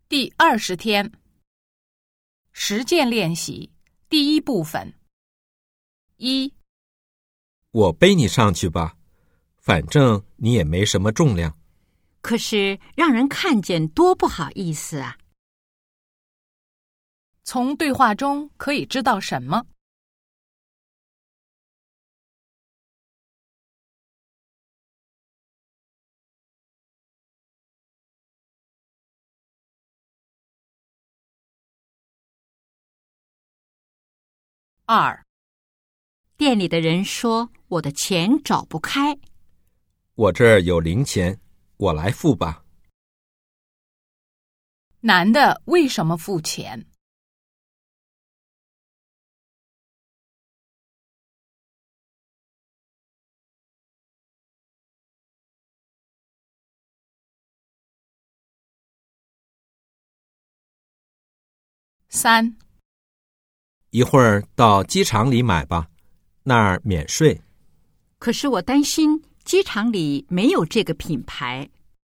第20天，实践练习第1部分。1， 我背你上去吧，反正你也没什么重量。 可是让人看见多不好意思啊！ 从对话中可以知道什么？2， 店里的人说我的钱找不开。 我这儿有零钱，我来付吧。 男的为什么付钱？3， 一会儿到机场里买吧，那儿免税。 可是我担心机场里没有这个品牌。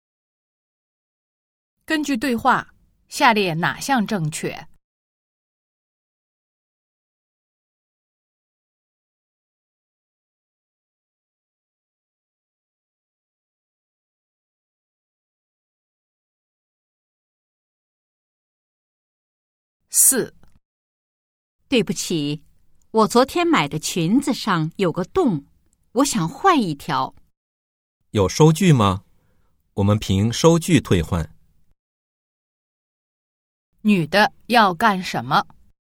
根据对话，下列哪项正确？4， 对不起，我昨天买的裙子上有个洞，我想换一条。 有收据吗？我们凭收据退换。 女的要干什么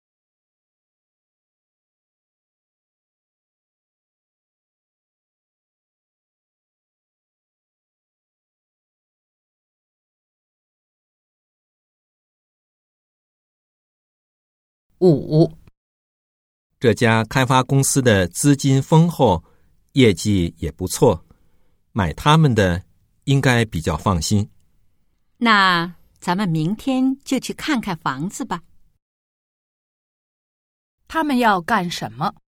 ？5， 这家开发公司的资金丰厚，业绩也不错，买他们的应该比较放心。 那咱们明天就去看看房子吧。 他们要干什么